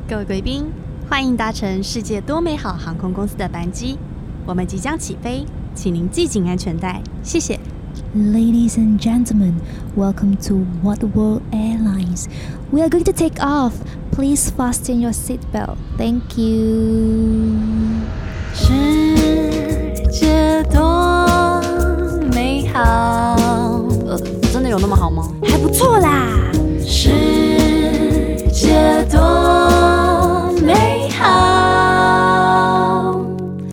各位貴賓，歡迎搭乘世界多美好航空公司的班機，我們即將起飛，請您繫緊安全帶，謝謝。 Ladies and gentlemen, welcome to What World Airlines. We are going to take off. Please fasten your seatbelt. Thank you. 世界多美好，真的有那麼好嗎？ 還不錯啦。